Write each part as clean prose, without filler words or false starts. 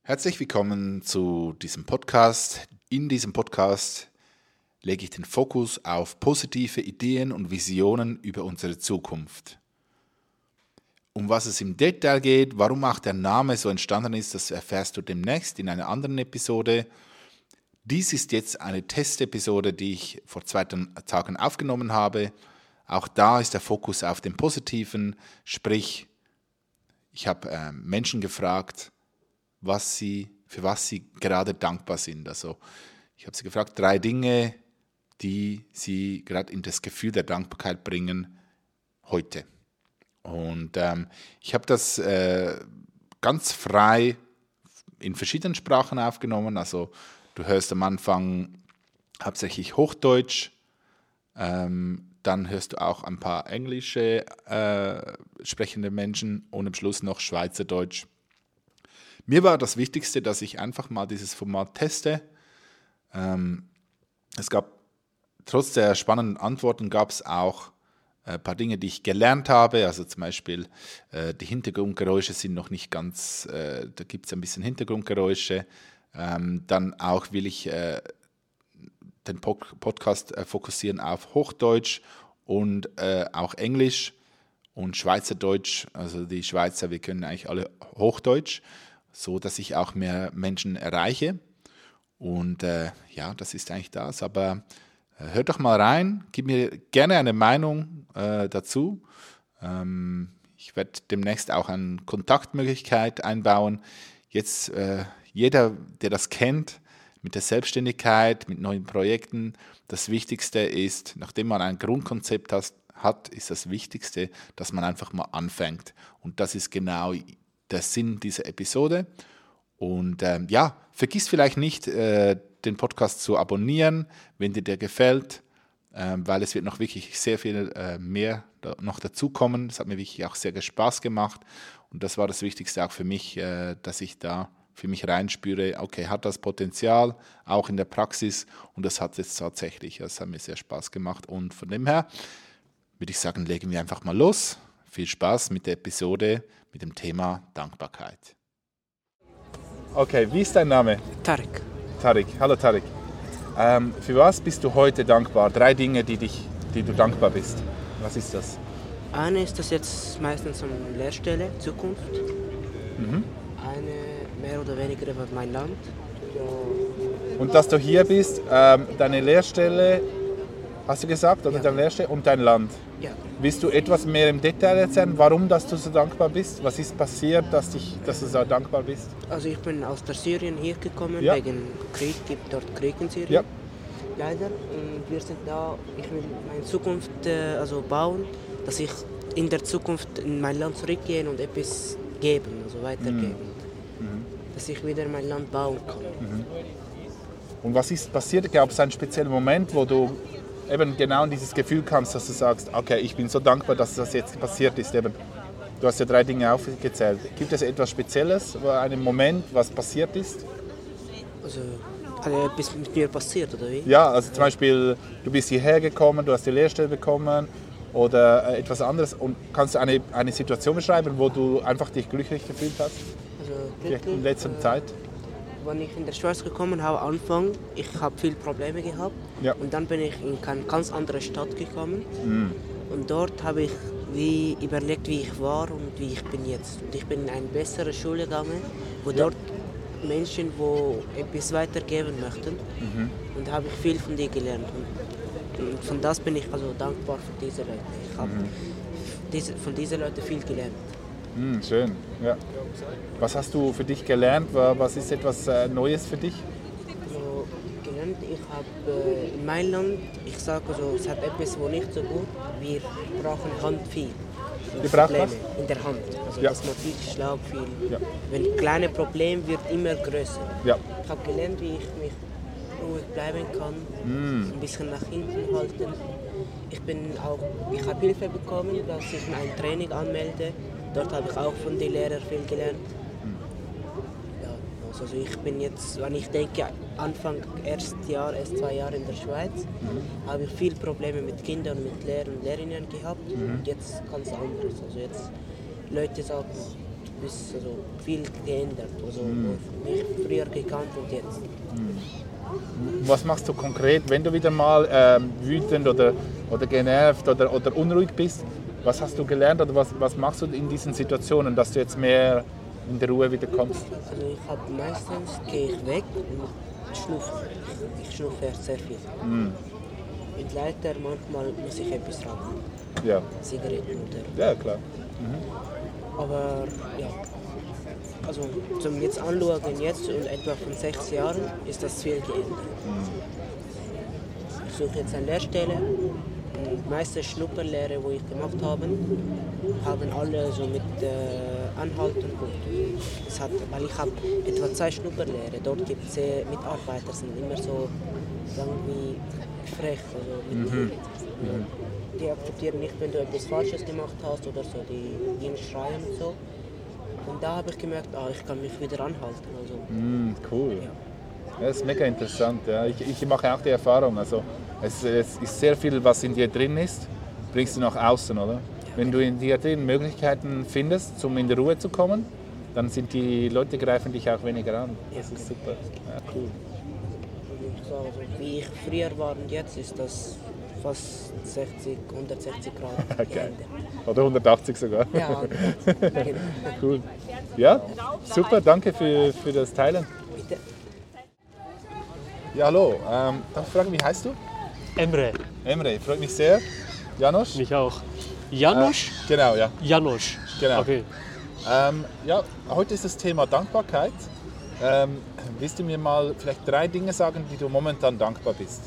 Herzlich willkommen zu diesem Podcast. In diesem Podcast lege ich den Fokus auf positive Ideen und Visionen über unsere Zukunft. Um was es im Detail geht, warum auch der Name so entstanden ist, das erfährst du demnächst in einer anderen Episode. Dies ist jetzt eine Testepisode, die ich vor 2 Tagen aufgenommen habe. Auch da ist der Fokus auf dem Positiven, sprich, ich habe Menschen gefragt, für was sie gerade dankbar sind. Also ich habe sie gefragt, 3 Dinge, die sie gerade in das Gefühl der Dankbarkeit bringen heute. Und ich habe das ganz frei in verschiedenen Sprachen aufgenommen. Also du hörst am Anfang hauptsächlich Hochdeutsch, dann hörst du auch ein paar englische sprechende Menschen und am Schluss noch Schweizerdeutsch. Mir war das Wichtigste, dass ich einfach mal dieses Format teste. Es gab, trotz der spannenden Antworten, gab es auch ein paar Dinge, die ich gelernt habe. Also zum Beispiel, die Hintergrundgeräusche sind noch nicht ganz, da gibt es ein bisschen Hintergrundgeräusche. Dann auch will ich den Podcast fokussieren auf Hochdeutsch und auch Englisch und Schweizerdeutsch. Also die Schweizer, wir können eigentlich alle Hochdeutsch, so dass ich auch mehr Menschen erreiche. Und das ist eigentlich das. Aber hört doch mal rein, gib mir gerne eine Meinung dazu. Ich werde demnächst auch eine Kontaktmöglichkeit einbauen. Jetzt jeder, der das kennt, mit der Selbstständigkeit, mit neuen Projekten, das Wichtigste ist, nachdem man ein Grundkonzept hat, ist das Wichtigste, dass man einfach mal anfängt. Und das ist genau der Sinn dieser Episode. Und vergiss vielleicht nicht, den Podcast zu abonnieren, wenn dir der gefällt, weil es wird noch wirklich sehr viel mehr noch dazukommen. Es hat mir wirklich auch sehr Spaß gemacht. Und das war das Wichtigste auch für mich, dass ich da für mich reinspüre, okay, hat das Potenzial, auch in der Praxis. Und das hat es tatsächlich. Das hat mir sehr Spaß gemacht. Und von dem her würde ich sagen, legen wir einfach mal los. Viel Spaß mit der Episode mit dem Thema Dankbarkeit. Okay, wie ist dein Name? Tarek. Tarek, hallo Tarek. Für was bist du heute dankbar? 3 Dinge, die du dankbar bist. Was ist das? Eine ist das jetzt meistens eine Lehrstelle, Zukunft. Eine mehr oder weniger über mein Land. Und dass du hier bist, deine Lehrstelle, hast du gesagt, oder Ja. deine Lehrstelle und dein Land. Ja. Willst du etwas mehr im Detail erzählen, warum dass du so dankbar bist? Was ist passiert, dass du so dankbar bist? Also ich bin aus der Syrien hier gekommen, Ja. wegen Krieg, gibt dort Krieg in Syrien. Ja. Leider. Und wir sind da, ich will meine Zukunft bauen, dass ich in der Zukunft in mein Land zurückgehen und etwas geben, also weitergeben. Dass ich wieder mein Land bauen kann. Und was ist passiert? Gab es einen speziellen Moment, wo du eben genau in dieses Gefühl kamst, dass du sagst, okay, ich bin so dankbar, dass das jetzt passiert ist. Eben, du hast ja 3 Dinge aufgezählt. Gibt es etwas Spezielles, einen Moment, was passiert ist? Also hat etwas mit mir passiert, oder wie? Ja, also zum Beispiel, du bist hierher gekommen, du hast die Lehrstelle bekommen oder etwas anderes. Und kannst du eine Situation beschreiben, wo du einfach dich glücklich gefühlt hast? Also Vielleicht in letzter Zeit? Als ich in der Schweiz gekommen habe, am Anfang, ich habe viele Probleme gehabt. Ja. Und dann bin ich in eine ganz andere Stadt gekommen. Und dort habe ich überlegt, wie ich war und wie ich bin jetzt. Und ich bin in eine bessere Schule gegangen, wo dort Menschen, die etwas weitergeben möchten. Und habe ich viel von denen gelernt. Und von das bin ich also dankbar für diese Leute. Ich habe von diesen Leuten viel gelernt. Schön, ja. Was hast du für dich gelernt? Was ist etwas Neues für dich? Also, gelernt, ich habe in meinem Land, ich sage also, es hat etwas, wo nicht so gut, wir brauchen Hand viel. Ihr braucht Probleme was? in der Hand, also Ja. dass man viel Schlag, viel. Ja. Wenn kleine Problem wird immer größer. Ja. Ich habe gelernt, wie ich mich ruhig bleiben kann, ein bisschen nach hinten halten. Ich habe Hilfe bekommen, dass ich ein Training anmelde. Dort habe ich auch von den Lehrern viel gelernt. Ja, also ich bin jetzt, wenn ich denke, Anfang erst 2 Jahre in der Schweiz, habe ich viele Probleme mit Kindern, mit Lehrern und Lehrerinnen gehabt. Und jetzt ganz anderes. Also jetzt Leute sagen, also viel geändert. Also mich früher gekannt und jetzt. Was machst du konkret, wenn du wieder mal wütend oder genervt oder unruhig bist? Was hast du gelernt oder was machst du in diesen Situationen, dass du jetzt mehr in der Ruhe wieder kommst? Also meistens gehe ich weg und schnupfe. Ich schnupfe sehr viel. Und leider manchmal muss ich etwas rauchen. Ja. Zigaretten oder. Ja, klar. Aber ja, also zum jetzt anschauen, jetzt und etwa von 6 Jahren ist das viel geändert. Ich suche jetzt eine Lehrstelle. Die meisten Schnupperlehre, die ich gemacht habe, haben alle so mit Anhalt und Punkt. Weil ich habe etwa 2 Schnupperlehre. Dort gibt es Mitarbeiter, sind immer so irgendwie frech. Also die akzeptieren nicht, wenn du etwas Falsches gemacht hast oder so, die gehen schreien und so. Und da habe ich gemerkt, ich kann mich wieder anhalten. Also, Cool. Ja. Ja, das ist mega interessant. Ja. Ich mache auch die Erfahrung. Also, es ist sehr viel, was in dir drin ist, bringst du nach außen, oder? Wenn du in dir drin Möglichkeiten findest, um in die Ruhe zu kommen, dann sind die Leute greifen dich auch weniger an. Das ist super. Ja, cool. Also, wie ich früher war und jetzt ist das fast 160 Grad Okay. geändert. Oder 180 sogar. Ja, genau. Cool. Ja, super, danke für das Teilen. Bitte. Ja, hallo. Darf ich fragen, wie heißt du? Emre, Emre, freut mich sehr. Janosch? mich auch. Janusz? Genau, ja. Janusz. Genau. Okay. Ja, heute ist das Thema Dankbarkeit. Willst du mir mal vielleicht 3 Dinge sagen, die du momentan dankbar bist?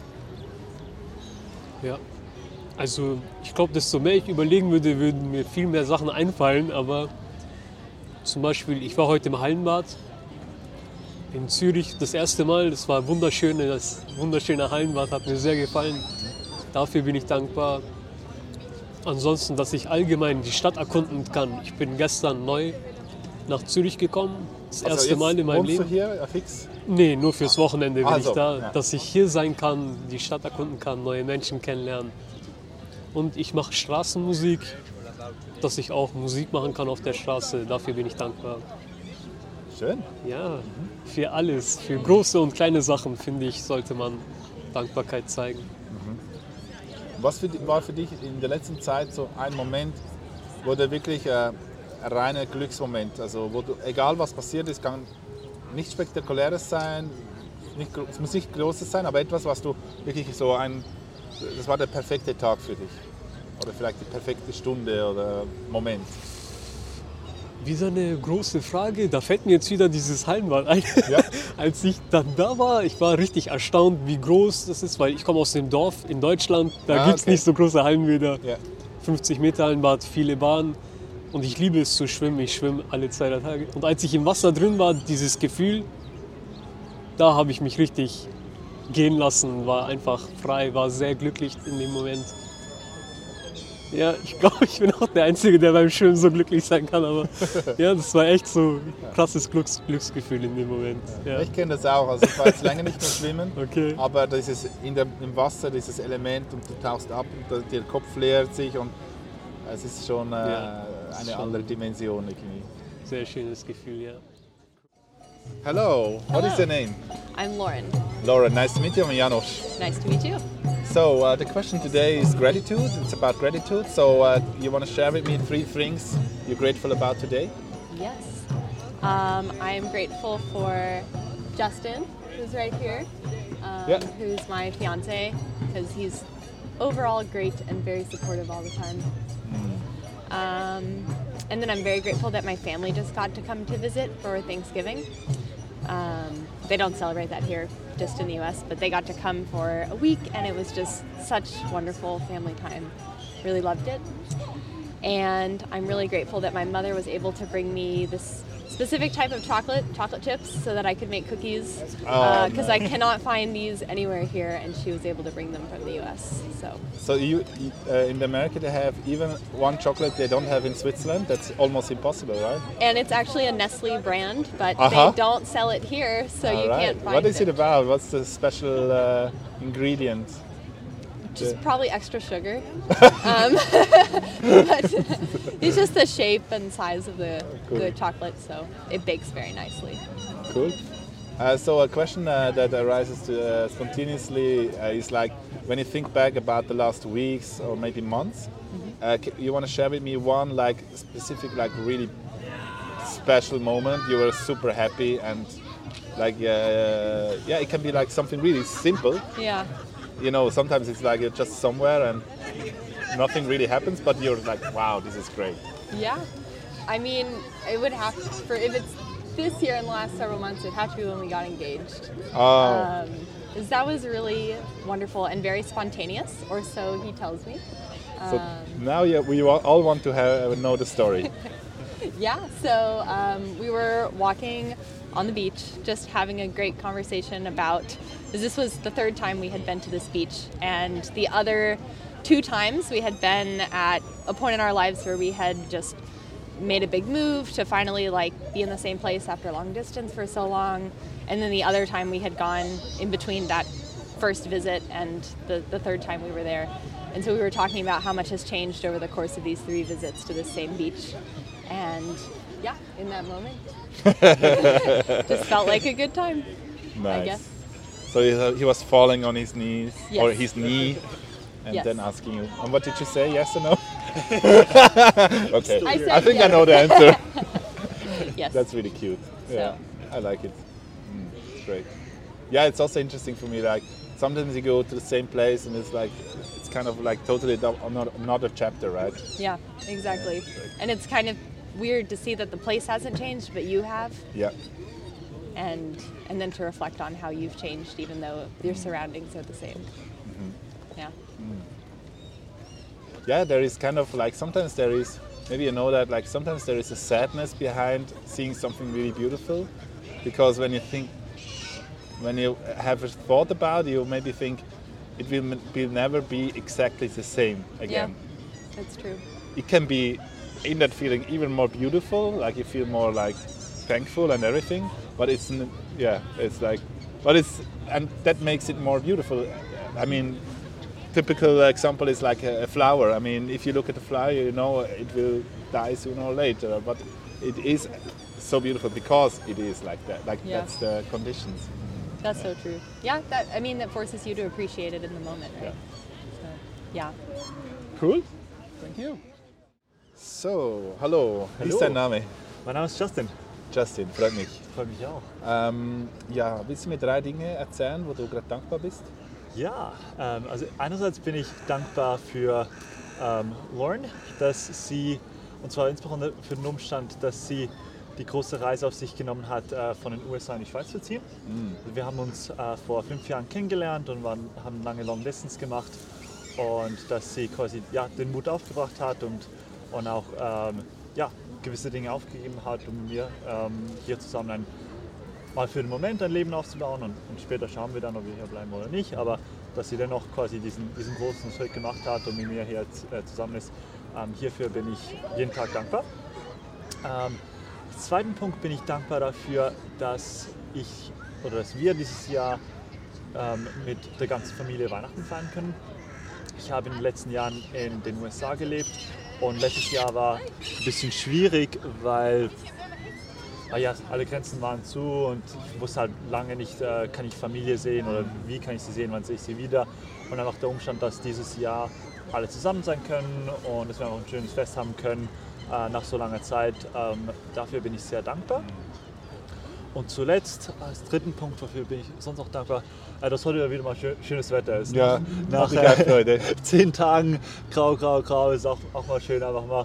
Ja. Also ich glaube, desto mehr ich überlegen würde, würden mir viel mehr Sachen einfallen. Aber zum Beispiel, ich war heute im Hallenbad in Zürich das erste Mal. Das war wunderschön, das wunderschöne Hallenbad hat mir sehr gefallen. Dafür bin ich dankbar. Ansonsten, dass ich allgemein die Stadt erkunden kann. Ich bin gestern neu nach Zürich gekommen. Das erste Mal in meinem Leben. Wohnst du hier fix? Nee, nur fürs Wochenende bin Also, ich da. ja. Dass ich hier sein kann, die Stadt erkunden kann, neue Menschen kennenlernen. Und ich mache Straßenmusik, dass ich auch Musik machen kann auf der Straße. Dafür bin ich dankbar. Schön. Ja, für alles, für große und kleine Sachen, finde ich, sollte man Dankbarkeit zeigen. Was war für dich in der letzten Zeit so ein Moment, wo du wirklich ein reiner Glücksmoment, also wo du, egal was passiert ist, kann nichts Spektakuläres sein, es muss nicht Großes sein, aber etwas, was du wirklich das war der perfekte Tag für dich oder vielleicht die perfekte Stunde oder Moment. Wieder eine große Frage, da fällt mir jetzt wieder dieses Hallenbad ein. Ja. Als ich dann da war, ich war richtig erstaunt, wie groß das ist, weil ich komme aus dem Dorf in Deutschland, da gibt es Okay. nicht so große Hallenbäder. Ja. 50 Meter Hallenbad, viele Bahnen und ich liebe es zu schwimmen, ich schwimme alle 2 Tage. Und als ich im Wasser drin war, dieses Gefühl, da habe ich mich richtig gehen lassen, war einfach frei, war sehr glücklich in dem Moment. Ja, ich glaube, ich bin auch der Einzige, der beim Schwimmen so glücklich sein kann, aber ja, das war echt so ein krasses Glücksgefühl in dem Moment. Ja. Ich kenne das auch, also ich war jetzt länger nicht mehr schwimmen, Okay. aber dieses im Wasser, dieses Element und du tauchst ab und der Kopf leert sich und es ist schon Ja, eine schon. andere Dimension irgendwie. Sehr schönes Gefühl, ja. Hello, what is your name? I'm Lauren. Laura, nice to meet you. I'm Janosch. Nice to meet you. So the question today is gratitude. It's about gratitude. So you want to share with me 3 things you're grateful about today? Yes. I'm grateful for Justin, who's right here, Yeah. who's my fiance, because he's overall great and very supportive all the time. And then I'm very grateful that my family just got to come to visit for Thanksgiving. They don't celebrate that here, just in the US, but they got to come for a week and it was just such wonderful family time. Really loved it. And I'm really grateful that my mother was able to bring me this specific type of chocolate chips, so that I could make cookies, because I cannot find these anywhere here, and she was able to bring them from the US. So you in America they have even one chocolate they don't have in Switzerland. That's almost impossible, right? And it's actually a Nestle brand, but Uh-huh. they don't sell it here, so All you right. can't find What is it. it about? What's the special ingredient? Just probably extra sugar. But it's just the shape and size of the chocolate, so it bakes very nicely. Cool. So a question that arises spontaneously is like, when you think back about the last weeks or maybe months, you want to share with me one like specific, like really special moment you were super happy, and like it can be like something really simple. Yeah. You know, sometimes it's like you're just somewhere and nothing really happens, but you're like, wow, this is great. Yeah. I mean, it would have to, if it's this year in the last several months, it'd have to be when we got engaged. Oh. 'Cause that was really wonderful and very spontaneous, or so he tells me. So now we all want to know the story. Yeah, so we were walking on the beach, just having a great conversation about, because this was the third time we had been to this beach, and the other 2 times we had been at a point in our lives where we had just made a big move to finally like be in the same place after long distance for so long, and then the other time we had gone in between that first visit and the third time we were there. And so we were talking about how much has changed over the course of these 3 visits to the same beach. And yeah, in that moment, just felt like a good time, Nice. I guess. So he was falling on his knees, Yes. or his knee, and Yes. then asking you, and what did you say, yes or no? Okay, I said I think I yes. know the answer. Yes. That's really cute. Yeah, So. I like it. It's great. Yeah, it's also interesting for me, like, sometimes you go to the same place and it's like, it's kind of like totally another chapter, right? Yeah, exactly. And it's kind of weird to see that the place hasn't changed, but you have, Yeah. and then to reflect on how you've changed, even though your surroundings are the same. Yeah. Yeah, there is kind of like, sometimes there is, maybe you know that, like sometimes there is a sadness behind seeing something really beautiful, because when you have a thought about it, you maybe think it will never be exactly the same again. Yeah, that's true. It can be in that feeling even more beautiful, like you feel more like thankful and everything, but it's like, and that makes it more beautiful. I mean, typical example is like a flower. I mean, if you look at the flower, you know it will die sooner or later, but it is so beautiful because it is like that. Like Yeah. that's the conditions. That's so true. Yeah, that forces you to appreciate it in the moment, right? So, yeah. Cool. Thank you. So, hallo. Wie ist dein Name? Mein Name ist Justin. Justin, freut mich. Freut mich auch. Ja, willst du mir 3 Dinge erzählen, wo du gerade dankbar bist? Ja, also einerseits bin ich dankbar für Lauren, dass sie, und zwar insbesondere für den Umstand, dass sie die große Reise auf sich genommen hat, von den USA in die Schweiz zu ziehen. Also wir haben uns vor 5 Jahren kennengelernt und haben lange Long Distance gemacht, und dass sie quasi den Mut aufgebracht hat und auch gewisse Dinge aufgegeben hat, um mit mir hier zusammen mal für den Moment ein Leben aufzubauen, und später schauen wir dann, ob wir hier bleiben oder nicht, aber dass sie dennoch quasi diesen großen Schritt gemacht hat und mit mir hier zusammen ist, hierfür bin ich jeden Tag dankbar. Als zweiten Punkt bin ich dankbar dafür, dass wir dieses Jahr mit der ganzen Familie Weihnachten feiern können. Ich habe in den letzten Jahren in den USA gelebt, und letztes Jahr war ein bisschen schwierig, weil alle Grenzen waren zu und ich wusste halt lange nicht, kann ich Familie sehen oder wie kann ich sie sehen, wann sehe ich sie wieder. Und einfach der Umstand, dass dieses Jahr alle zusammen sein können und dass wir einfach ein schönes Fest haben können nach so langer Zeit, dafür bin ich sehr dankbar. Und zuletzt, als dritten Punkt, wofür bin ich sonst auch dankbar, dass heute wieder mal schönes Wetter ist. Ja, nach 10 Tagen grau ist auch mal schön, einfach mal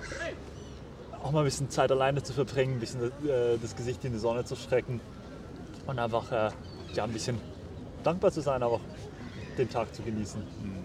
ein bisschen Zeit alleine zu verbringen, ein bisschen das Gesicht in die Sonne zu strecken und einfach ein bisschen dankbar zu sein, aber auch den Tag zu genießen.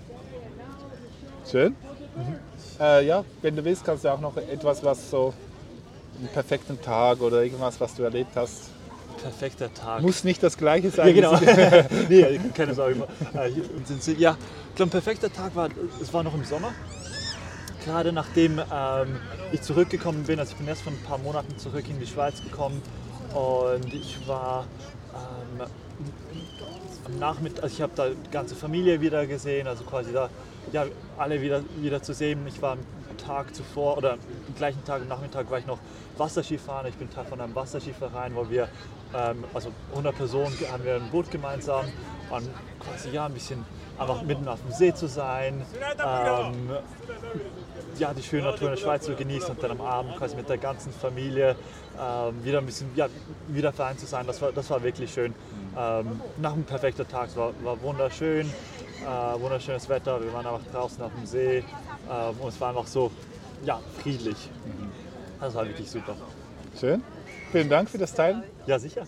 Schön. Ja, wenn du willst, kannst du auch noch etwas, was so einen perfekten Tag oder irgendwas, was du erlebt hast. Perfekter Tag. Muss nicht das Gleiche sein. Ja, genau. Nee, keine Sorge. Ja, ich glaube, ein perfekter Tag war noch im Sommer. Gerade nachdem ich zurückgekommen bin, also ich bin erst vor ein paar Monaten zurück in die Schweiz gekommen Und ich war am Nachmittag, also ich habe da die ganze Familie wieder gesehen, also quasi da ja, alle wieder zu sehen. Ich war am Tag zuvor oder am gleichen Tag am Nachmittag war ich noch Wasserskifahren. Ich bin Teil von einem Wasserskiverein, wo wir, also 100 Personen, haben wir ein Boot gemeinsam und quasi ja ein bisschen einfach mitten auf dem See zu sein, ja, die schöne Natur in der Schweiz zu genießen und dann am Abend quasi mit der ganzen Familie wieder ein bisschen wieder vereint zu sein. Das war wirklich schön. Nach einem perfekten Tag, es war wunderschön, wunderschönes Wetter, wir waren einfach draußen auf dem See und es war einfach so ja, friedlich. Das war wirklich super. Schön. Vielen Dank für das Teilen. Ja, sicher.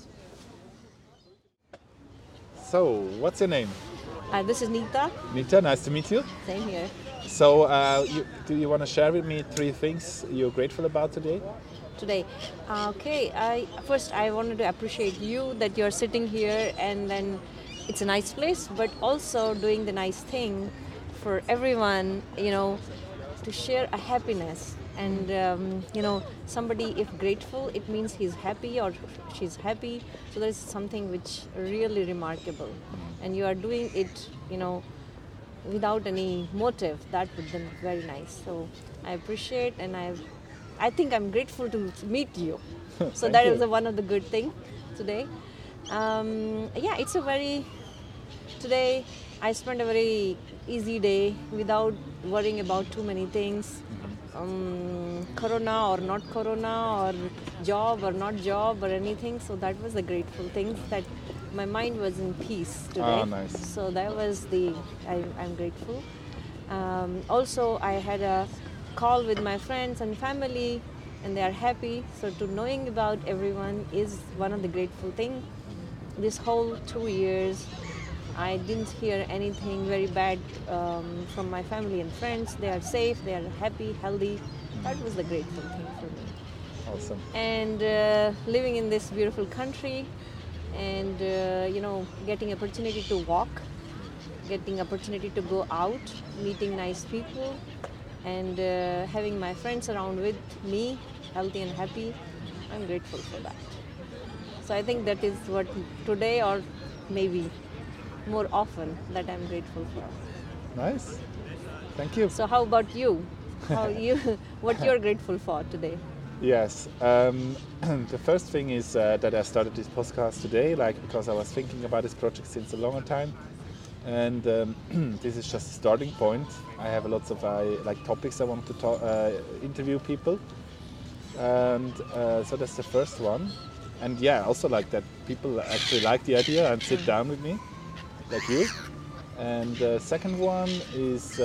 So, what's your name? This is Nita. Nita, nice to meet you. Same here. So, do you want to share with me 3 things you're grateful about today? Today, okay. First, I wanted to appreciate you that you're sitting here, and then it's a nice place, but also doing the nice thing for everyone. You know, to share a happiness. And you know, somebody if grateful, it means he's happy or she's happy. So there is something which really remarkable, and you are doing it, you know, without any motive. That would be very nice. So I appreciate, and I think I'm grateful to meet you. So that is one of the good things today. Yeah, it's a very today. I spent a very easy day without worrying about too many things. Corona or not corona, or job or not job or anything. So that was the grateful thing, that my mind was in peace today. Ah, nice. So that was I'm grateful. Also, I had a call with my friends and family, and they are happy. So to knowing about everyone is one of the grateful things. This whole 2 years, I didn't hear anything very bad from my family and friends. They are safe, they are happy, healthy. That was the grateful thing for me. Awesome. And living in this beautiful country, and you know, getting opportunity to walk, getting opportunity to go out, meeting nice people, and having my friends around with me, healthy and happy. I'm grateful for that. So I think that is what today, or maybe more often, that I'm grateful for. Nice. Thank you. So how about you? What you're grateful for today? Yes. The first thing is that I started this podcast today, because I was thinking about this project since a longer time, and this is just a starting point. I have lots of topics I want to interview people, and so that's the first one. And yeah, also like that people actually like the idea and sit down with me, like you. And the second one is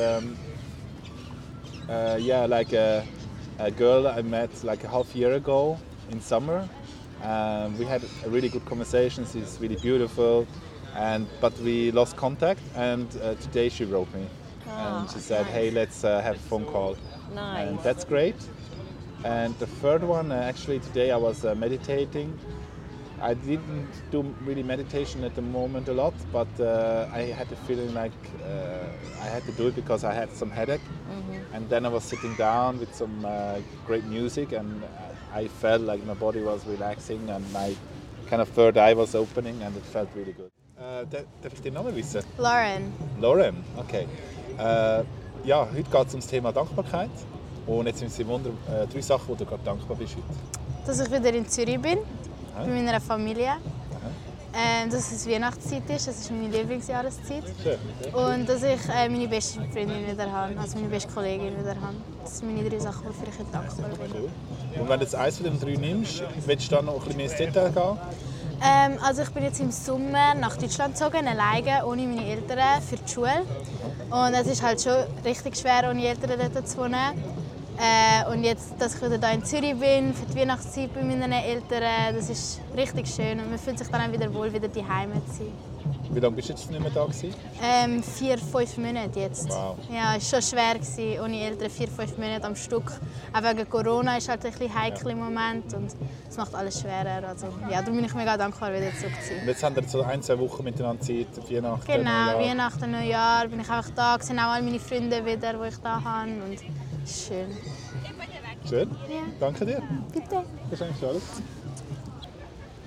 a girl I met like a half year ago in summer. We had a really good conversation. She's really beautiful, but we lost contact. And today she wrote me, and she said, nice. "Hey, let's have a phone call." Nice. And that's great. And the third one, actually today I was meditating. I didn't do really meditation at the moment a lot, but I had the feeling like I had to do it because I had some headache. Mm-hmm. And then I was sitting down with some great music, and I felt like my body was relaxing and my kind of third eye was opening, and it felt really good. Darf ich den Namen wissen? Lauren. Lauren, okay. Ja, heute geht es um das Thema Dankbarkeit. Und jetzt sind es 3 Sachen, wo du gerade dankbar bist heute. Dass ich wieder in Zürich bin, bei meiner Familie. Dass es Weihnachtszeit ist, das ist meine Lieblingsjahreszeit. Schön. Und dass ich meine beste Freundin wieder habe, also meine beste Kollegin wieder habe. Das sind meine 3 Sachen, wofür ich heute dankbar bin. Cool. Und wenn du jetzt eins von den 3 nimmst, willst du dann noch ein bisschen mehr ins Detail gehen? Also ich bin jetzt im Sommer nach Deutschland gezogen, alleine, ohne meine Eltern, für die Schule. Und es ist halt schon richtig schwer, ohne Eltern dort zu wohnen. Und jetzt, dass ich wieder hier in Zürich bin, für die Weihnachtszeit bei meinen Eltern, das ist richtig schön. Und man fühlt sich dann auch wieder wohl, wieder daheim zu sein. Wie lange bist du jetzt nicht mehr da gewesen? 4-5 Monate jetzt. Wow. Ja, es war schon schwer gewesen, ohne Eltern 4-5 Monate am Stück. Auch wegen Corona ist halt ein bisschen heikel im Moment und es macht alles schwerer. Also, ja, darum bin ich mega dankbar, wieder zurück zu sein. Und jetzt haben wir so 1-2 Wochen miteinander Zeit, Weihnachten, Genau, Neujahr. Weihnachten, Neujahr bin ich einfach da, sehe auch all meine Freunde wieder, die ich da habe. Und es ist schön. Schön. Ja. Danke dir. Bitte. Das ist eigentlich alles.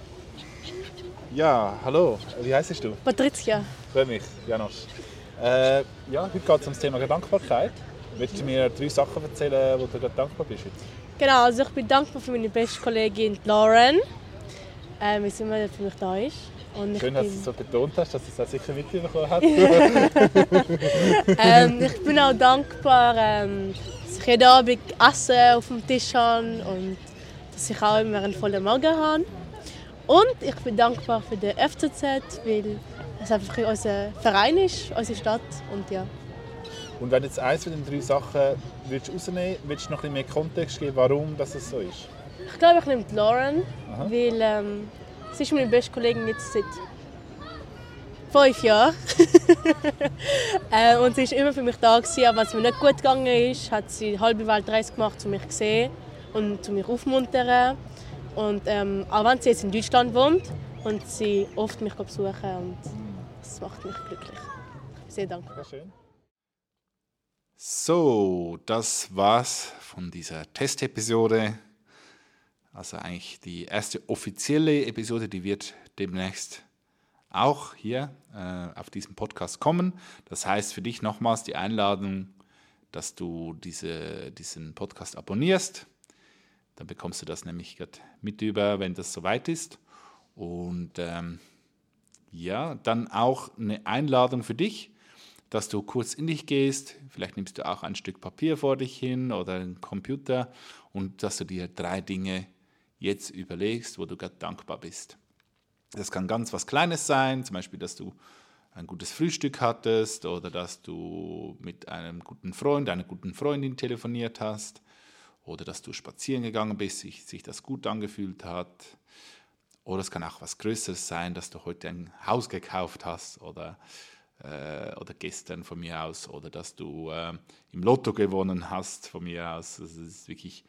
Ja, hallo. Wie heißt du? Patricia. Freue mich, Janosch. Ja, heute geht es um das Thema Dankbarkeit. Willst du mir 3 Sachen erzählen, wo du gerade dankbar bist heute? Genau, also ich bin dankbar für meine beste Kollegin Lauren, wie sie immer für mich da ist. Und Schön, dass du es so betont hast, dass du es auch sicher mitbekommen hast. Ich bin auch dankbar, dass ich jeden Abend Essen auf dem Tisch habe und dass ich auch immer einen vollen Magen habe. Und ich bin dankbar für den FCZ, weil es einfach unser Verein ist, unsere Stadt. Und ja. Und wenn du jetzt eins von den 3 Sachen willst rausnehmen willst du noch ein bisschen mehr Kontext geben, warum das so ist? Ich glaube, ich nehme Lauren, weil sie ist meine beste Kollegin jetzt seit 5 Jahren. Und sie war immer für mich da gewesen, aber wenn es mir nicht gut gegangen ist, hat sie eine halbe Weltreise gemacht, um mich zu sehen und zu mich aufmuntern. Und auch wenn sie jetzt in Deutschland wohnt und sie oft mich besuchen und das macht mich glücklich. Ich bin sehr dankbar. Sehr schön. So, das war's von dieser Testepisode. Also eigentlich die erste offizielle Episode, die wird demnächst auch hier auf diesem Podcast kommen. Das heißt für dich nochmals die Einladung, dass du diesen Podcast abonnierst. Dann bekommst du das nämlich gerade mit über, wenn das soweit ist. Und ja, dann auch eine Einladung für dich, dass du kurz in dich gehst. Vielleicht nimmst du auch ein Stück Papier vor dich hin oder einen Computer und dass du dir 3 Dinge jetzt überlegst, wo du gerade dankbar bist. Das kann ganz was Kleines sein, zum Beispiel, dass du ein gutes Frühstück hattest oder dass du mit einem guten Freund, einer guten Freundin telefoniert hast oder dass du spazieren gegangen bist, sich das gut angefühlt hat. Oder es kann auch was Größeres sein, dass du heute ein Haus gekauft hast oder gestern von mir aus oder dass du im Lotto gewonnen hast von mir aus. Das ist wirklich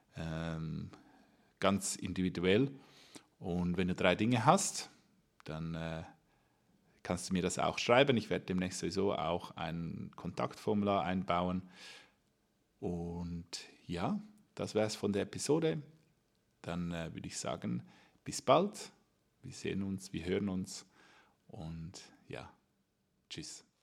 ganz individuell. Und wenn du 3 Dinge hast, dann kannst du mir das auch schreiben. Ich werde demnächst sowieso auch ein Kontaktformular einbauen. Und ja, das wäre es von der Episode. Dann würde ich sagen, bis bald. Wir sehen uns, wir hören uns und ja, tschüss.